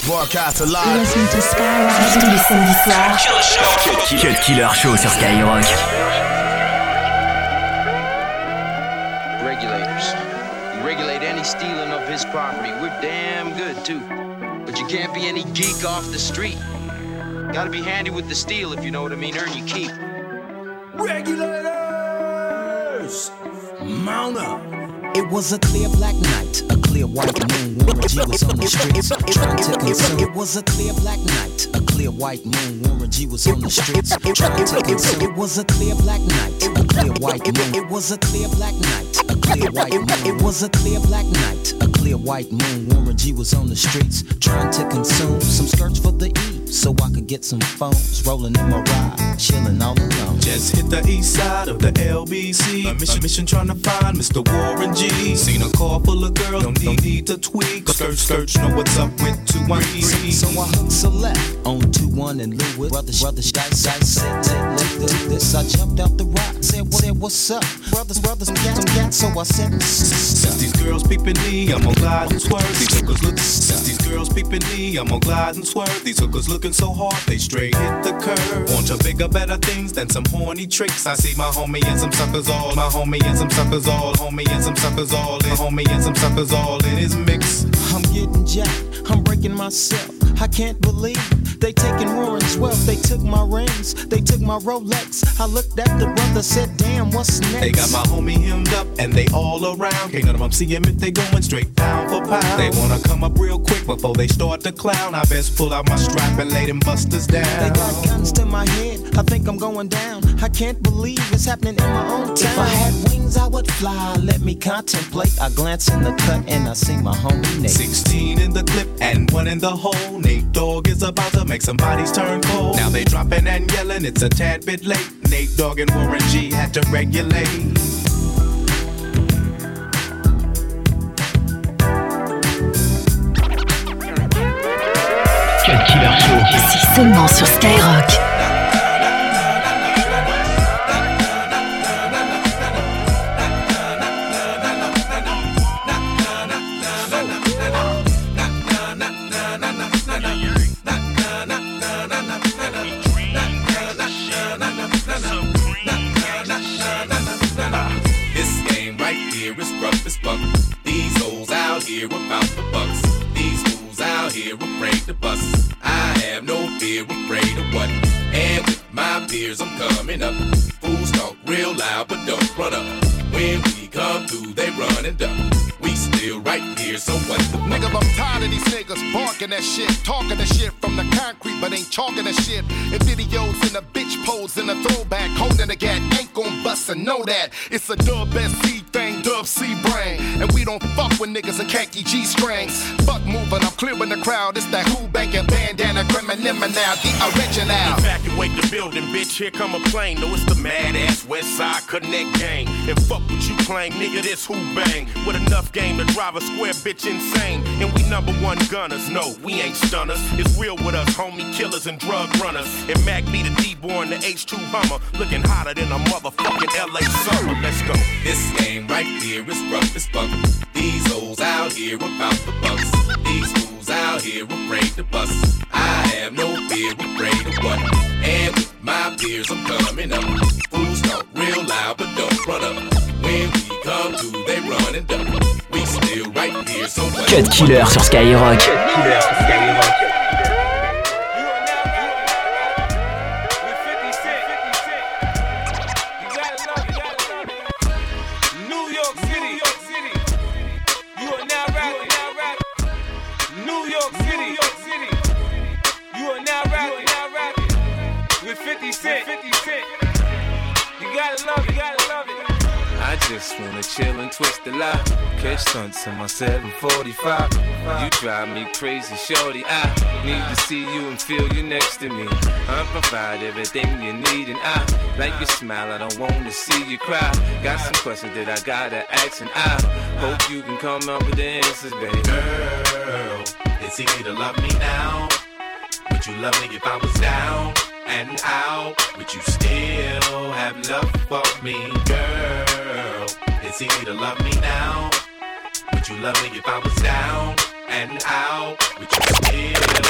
Broadcast alive. Listen to Skyrock tous les samedis soirs. Cut Killer Show sur Skyrock. Regulators. You regulate any stealing of his property. We're damn good too. But you can't be any geek off the street. Gotta be handy with the steel if you know what I mean. Earn your keep. Regulators! Mount up. It was a clear black night, a clear white moon. Warren G was on the streets trying to consume. It was a clear black night, a clear white moon. Warren G was on the streets trying to consume. It was a clear black night, a clear white moon. It was a clear black night, a clear white moon. It was a clear black night, a clear white moon. Warren G was on the streets trying to consume some skirts for the E, so I could get some phones. Rolling in my ride, chilling all alone. Just hit the east side of the LBC. A mission trying to find Mr. Warren G. Seen a car full of girls, no need to tweak. Skirt, know what's up with 213. So I hooked select on 21 and Lewis. Brothers, dice, said this. I jumped out the rock, said what's up? Brothers, got. So I said, since these girls peeping me, I'm gonna glide and swerve. These hookers look. Since these girls peeping me, I'm gonna glide and swerve. These hookers looking so hard, they straight hit the curve. Want to bigger, better things than some horny tricks. I see my homie and some suckers all. My homie and some suckers all. Homie and some suckers all. My homie and some suckers all in his mix. I'm getting jacked, I'm breaking myself. I can't believe they taking Warren's wealth. They took my rings, they took my Rolex. I looked at the brother, said, damn, what's next? They got my homie hemmed up and they all around. Can't none of them see him if they going straight pound for pound. They wanna come up real quick before they start to clown. I best pull out my strap and lay them busters down. They got guns to my head, I think I'm going down. I can't believe it's happening in my own town. If I had wings, I would fly, let me contemplate. I glance in the cut and I see my homie Nate. 16 in the clip and 1 in the hole. Nate Dogg is about to make some bodies turn cold. Now they dropping and yelling, it's a tad bit late. Nate Dogg and Warren G had to regulate. Cut Killer Show. Ici seulement sur Skyrock. About the bucks. These fools out here afraid to bust. I have no fear, afraid of what? And with my peers I'm coming up. Fools talk real loud but don't run up. When we come through they run and duck. We still right here, so what the fuck? Nigga, I'm tired of these niggas barking that shit, talking that shit from the concrete, but ain't talking that shit. In videos in a bitch pose in a throwback, holding a gat, ain't gon' bust and know that. It's a dub SC thing, dub C brain, and we don't fuck with niggas in khaki G strings. Fuck moving, I'm clearing the crowd. It's that who banking bandana, criminal now, the original. Evacuate the building, bitch. Here come a plane. No, it's the mad ass West Side Connect gang. And fuck what you claim, nigga. This who bang with enough game to drive a square bitch insane. And we #1 gunners. No, we ain't stunners. It's real with us, homie killers and drug runners. And Mac be the D-born, the H2 Hummer, looking hotter than a motherfucking LA summer. Let's go. This game right here is rough as fuck. These hoes out here about the bucks. These fools out here afraid to bust. I have no fear, afraid of what? And with my peers I'm coming up. Fools talk real loud but don't run up. When we come through they run and duck. We still right here, so what? Cut Killer sur Skyrock. Cut Killer sur Skyrock. I just wanna chill and twist the lie. Catch stunts in my 745. You drive me crazy, shorty. I need to see you and feel you next to me. I provide everything you need, and I like your smile. I don't wanna see you cry. Got some questions that I gotta ask, and I hope you can come up with the answers, baby. Girl, it's easy to love me now. Would you love me if I was down and out? Would you still have love for me, girl? It's easy to love me now. Would you love me if I was down and out? Would you still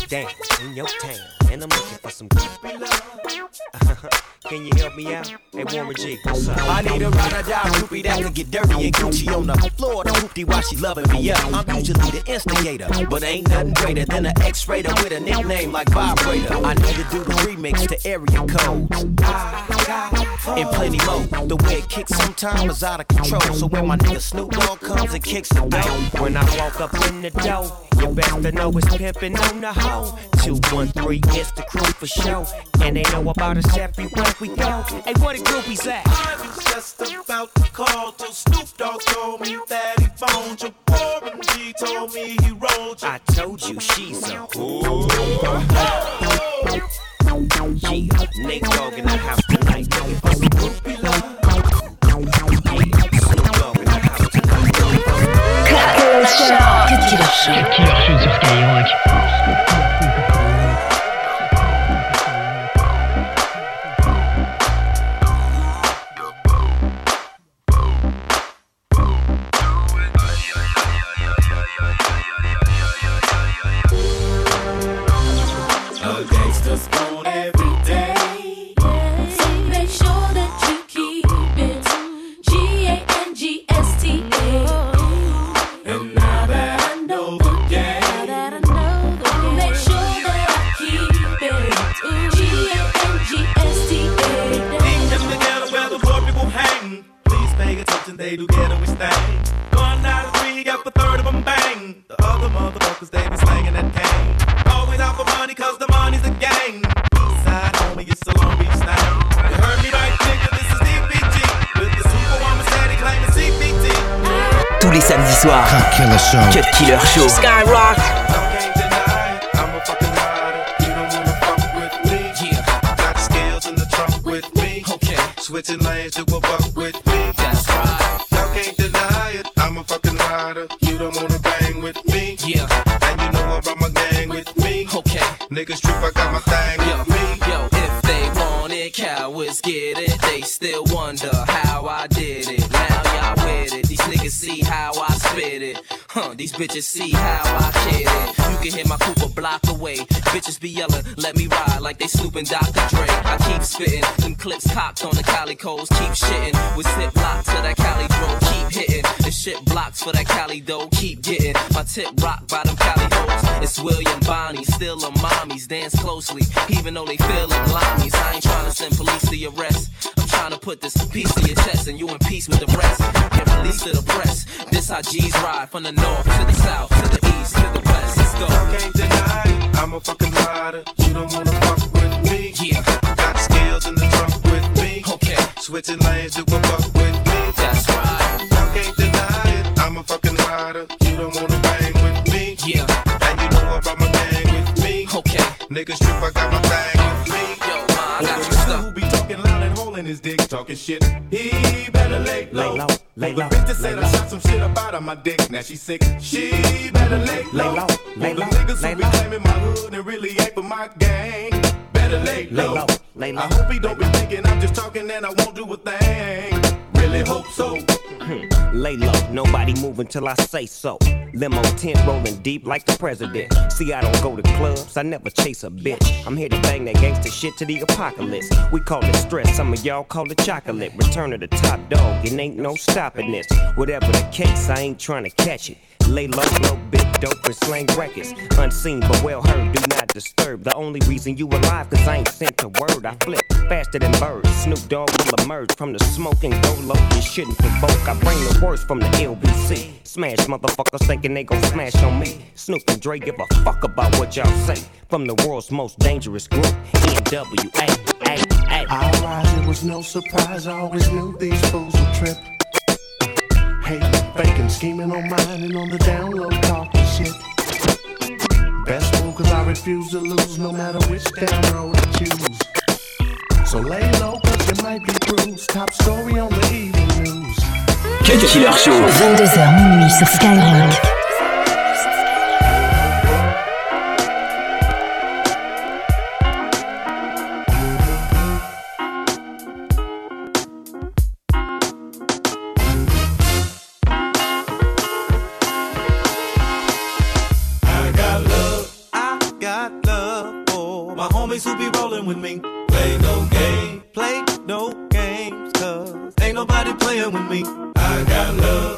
down in your town, and I'm looking for some groupie love. Can you help me out? Hey, Warren G, what's up? I need a ride-or-die groupie that can get dirty and Gucci on the floor. The hoopty while she loving me up. I'm usually the instigator, but ain't nothing greater than an X-rater with a nickname like Vibrator. I need to do the remix to area codes. And plenty more. The way it kicks sometimes is out of control. So when my nigga Snoop Dogg comes and kicks the door, when I walk up in the door, you best to know it's pimpin' on the hoe. 213, it's the crew for show. And they know about us everywhere we go. Hey, where the groupies at? I was just about to call till Snoop Dogg told me that he phoned you. Warren G told me he rolled you. I told you she's a whore. Yeah, Nate Dogg in the house tonight. Looking for some groupie love. Snoop Dogg in the house tonight. Cut Killer Show. Cut Killer Show sur Skyrock. They do get away stang. 1 out of 3, got the third of them bang. The other motherfuckers, they be slanging that cane. Always out for money, cause the money's a gang. Eastside, homie, it's a Long Beach thing. You heard me right, nigga, this is DPG. With the Superwoman steady claiming CPT. Tous les samedis soirs, Cut Killer Show. Cut Killer Show. I Skyrock. can't deny it, I'm a fucking rider. You don't wanna fuck with me. Yeah. Got scales in the trunk with me. Okay. Switching lanes to a buck with me. That's right. Can't deny it, I'm a fucking rider. You don't wanna bang with me. Yeah. And you know I brought my gang with me. Okay. Niggas trip, I got my thing with me. Yo, if they want it, cowards get it. They still wonder how I did it. Now y'all with it. These niggas see how I spit it. These bitches see how I kid it. You can hear my coupe a block away. Bitches be yelling, let me ride like they snooping Dr. Dre. I keep spitting, them clips cocked on the calicos. Keep shitting with zip blocks to that Cali drove. Keep hitting, the shit blocks for that Cali dough. Keep getting my tip rocked by them Cali hoes. It's William Bonnie, still a mommies. Dance closely, even though they feel them limeys. I ain't trying to send police to your arrest. I'm trying to put this piece to your chest and you in peace with the rest. Get released to the press. This how G's ride from the north to the south, to the east, to the west. Let's go. I can't deny it, I'm a fucking rider. You don't wanna fuck with me. Yeah. Got scales in the trunk with me. Okay. Switching lanes to a buck with me. That's right. I can't deny it, I'm a fucking rider. You don't wanna bang with me. Yeah. And you know I brought my gang with me. Okay. Niggas trip, I got my thing with me. Yo, I got you Nigga stuck. who be talking loud and holding his dick, talking shit. He better lay low. Lay low, lay The low, bitch that said lay I low. shot some shit about her, my dick. Now she sick. She better lay low. Lay low, lay The low, niggas lay who be low. claiming my hood and really ain't for my gang. Better lay low. low, lay low. I hope he don't be thinking I'm just talking and I won't do a thing. Really hope so. Lay low, nobody moving till I say so. Limo tent rolling deep like the president. See, I don't go to clubs, I never chase a bitch. I'm here to bang that gangster shit to the apocalypse. We call it stress, some of y'all call it chocolate. Return of the top dog, it ain't no stopping this. Whatever the case, I ain't trying to catch it. Lay low, blow big dope and slang records. Unseen but well heard, do not disturb. The only reason you alive, cause I ain't sent a word. I flip faster than birds. Snoop Dogg will emerge from the smoke and go low. You shouldn't provoke. I bring the worst from the LBC. Smash motherfuckers thinking they gon' smash on me. Snoop and Dre give a fuck about what y'all say. From the world's most dangerous group, NWA. I rise, it was no surprise. I always knew these fools would trip. Hating, faking, scheming on mine and on the down low talking shit. Best move cause I refuse to lose no matter which damn road I choose. So lay low cause you might be bruised. Top story on the evening news. Cut Killer Show. 22h minuit sur Skyrock. I got homies who be rolling with me. Play no games, cause ain't nobody playing with me. I got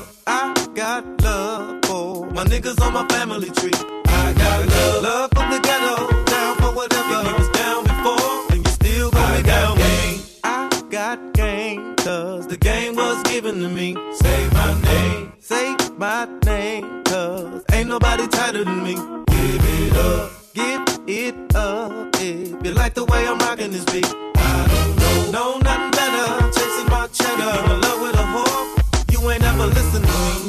love for my niggas on my family tree. I got love for the ghetto, down for whatever. If you was down before, then you still gonna be down with me. I got game, cause the game was given to me. Say my name, cause ain't nobody tighter than me. Give it up, if you like the way I'm rocking this beat. I don't know nothing better, chasing my cheddar. In love with a whore, you ain't ever listen to me.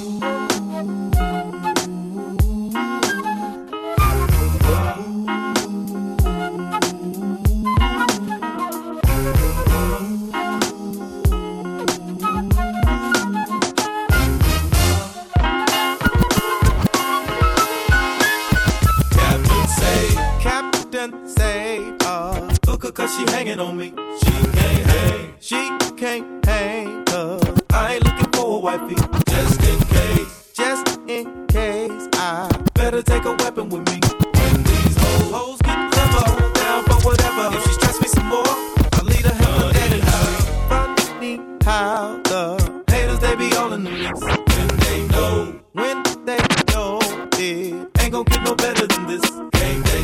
Cause she hanging on me. She can't hang, cause I ain't looking for a wifey. Just in case, I better take a weapon with me. When these hoes get clever, down for whatever. If she stress me some more, I'll lead her hell dead and high. Funny how the haters, they be all in the mix. When they know it ain't gon' get no better than this. Can't they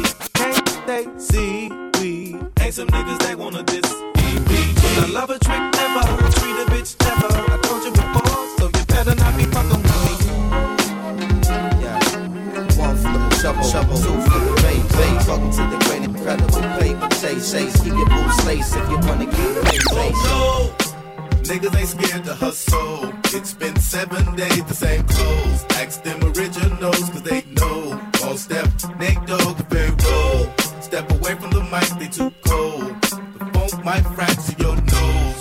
see? Ain't some niggas they wanna diss. EPG. I love a trick never, treat a bitch never. I told you before, so you better not be fucking with me. Yeah, one for the shovel, two for the bait. Welcome to the great incredible paper chase. Keep your boots laced if you wanna keep the face. Oh no, niggas ain't scared to hustle. It's been 7 days, the same clothes. Ask them originals, cause they know. All step, Nate Dogg, very roll. Step away from the mic, they too cold. The funk might fracture your nose.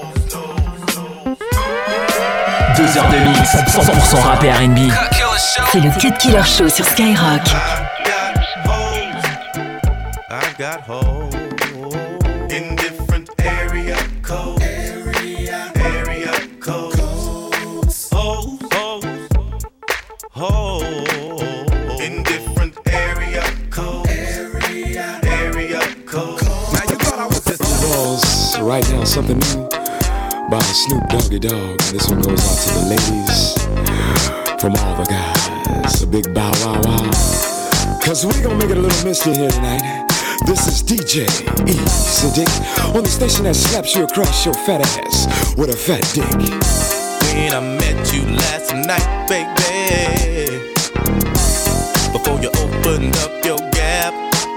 2 heures de mix, 100% rap et R&B. C'est le Cut Killer Show sur Skyrock. I got hoes in different area codes. In different area codes. Now you thought I was just Balls right now, something new by Snoop Doggy Dogg. This one goes out to the ladies from all the guys. A big bow wow wow. Cause we gonna make it a little mystery here tonight. This is DJ Easy Dick on the station that slaps you across your fat ass with a fat dick. When I met you last night, baby, before you opened up your gap,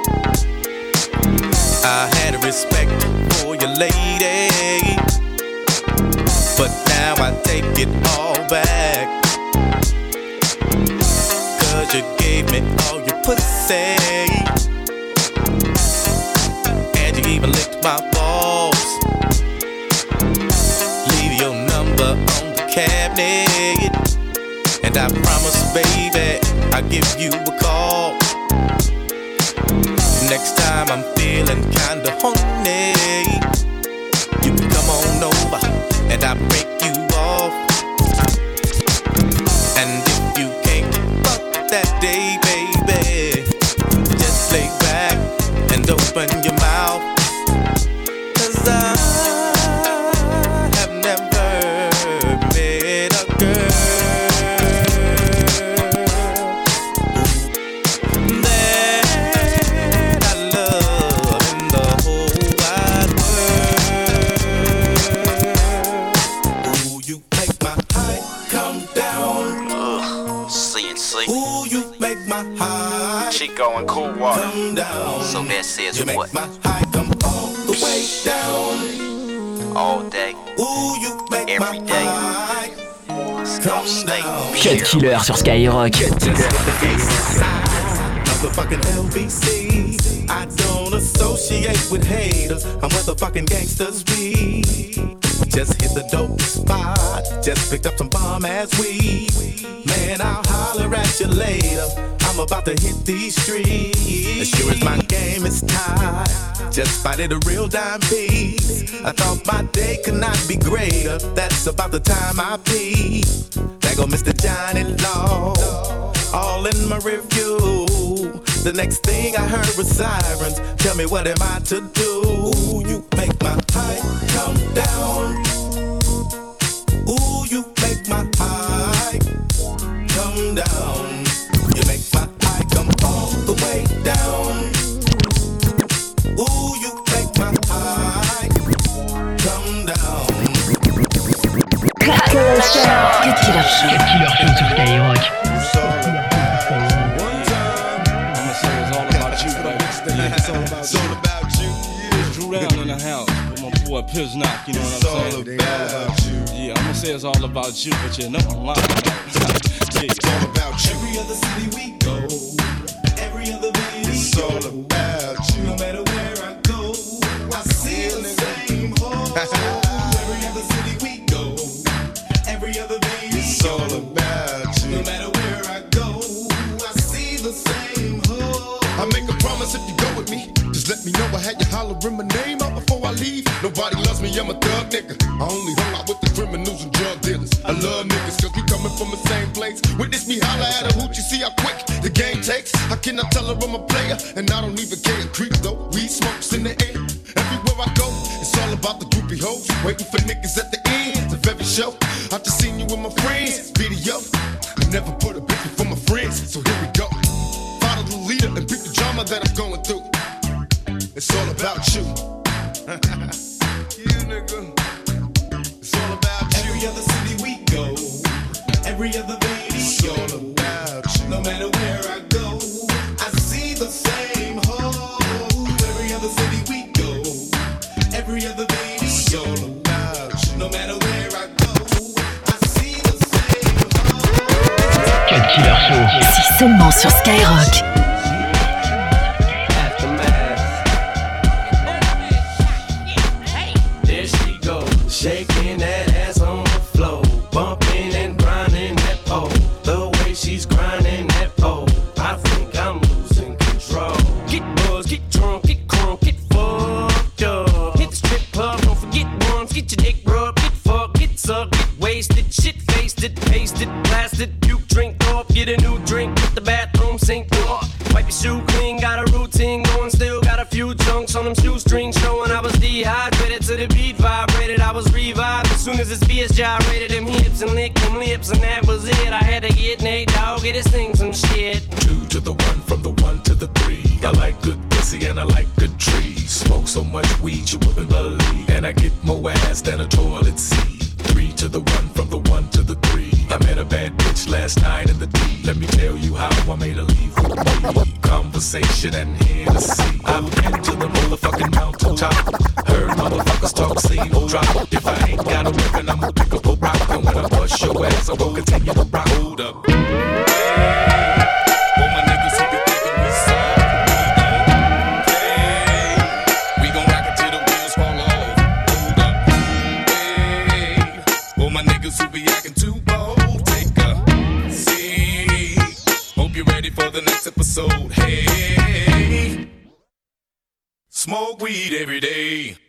I had a respect for your lady, but now I take it all back. Cause you gave me all your pussy, and you even licked my balls. Leave your number on the cabinet, and I promise, baby, I'll give you a call. Next time I'm feeling kinda horny, you can come on over and I'll break you off. And if you can't fuck that day, baby, just lay back and open your mouth. Cause I have never met a girl Chico and Cool Water. So that says you what? Make my high come all the way down. All day. Ooh, you make every day. Don't stay. Cut Killer sur Skyrock. Motherfucking LBC. I don't associate with haters. I'm where the fucking gangsters be. Just hit the dope spot. Just picked up some bomb ass weed. Man, I'll holler at you later. I'm about to hit these streets. As sure as my game is tied, just spotted a real dime piece. I thought my day could not be greater. That's about the time I peep. There go Mr. Johnny Law, all in my review. The next thing I heard was sirens. Tell me what am I to do? Ooh, you make my high come down. Ooh, you make my high come down. You make my high come all the way down. Ooh, you make my high come down. Cut Killer Show. Cut Killer Show. Cut Killer Show sur Skyrock. It's all about you. Drew Down in the house with my boy Piz Knock, you know what I'm saying? It's all about you. Yeah, I'm gonna say it's all about you, but you know I'm lying. Yeah, it's all about you. Every other city we go, every other video. It's all about you. No matter where I go, I see the same hole. Every other city we go, every other video. It's all about you. No matter where I go, I see the same hole. I make a promise if you go with me, just let me know. I had you hollering my name out before I leave. Nobody loves me, I'm a thug nigga. I only hung out with the criminals and drug dealers. I love niggas cause we coming from the same place. Witness me holler at a hoochie, see how quick the game takes. How can I tell her I'm a player? And I don't even care. Creep though, weed smokes in the air. Everywhere I go, it's all about the groupie hoes. Waiting for niggas at the end of every show. I just seen you with my friends, video. I never put a bitch before my friends, so here we go. Follow the leader and beat the drama that I'm going through. It's all about you. You nigga. It's all about you. Every other city we go, every other video. It's all about you. No matter where I go, I see the same hole. Every other city we go, every other video. It's all about you. No matter where I go, I see the same hole. Cut Killer Show. C'est seulement sur Skyrock. Shaking that ass on the floor, bumping and grinding that pole. The way she's grinding that pole, I think I'm losing control. Get buzzed, get drunk, get crunk, get fucked up. Hit the strip club, don't forget once, get your dick rubbed, get fucked, get sucked, get wasted, shit faced it, pasted, blasted, puke, drink off, get a new drink, hit the bathroom sink off. Wipe your shoe clean, got a routine going, still got a few chunks on them shoestrings showing I was dehydrated to the beat vibrated. I was revived as soon as his beers gyrated them hips and licked them lips, and that was it. I had to get Nate Dogg, get his thing some shit. 2 to the 1, from the 1 to the 3. I like good pussy and I like good trees. Smoke so much weed you wouldn't believe, and I get more ass than a toilet seat. 3 to the 1, from the 1 to the 3. I met a bad bitch last night in the D. Let me tell you how I made her leave with me. Conversation and Hennessy. I've been to the motherfucking mountaintop. Heard motherfuckers talk, seen no drop. If I ain't got a weapon, I'ma pick up a rock. And when I bust your ass, I'm gonna continue to rock. Hold up. For my niggas who be thinking we soft, hey, we gon' rock it till the wheels fall off. Hold up. Hey, for my niggas who be acting too bold, take a seat. Hope you're ready for the next episode. Hey, smoke weed every day.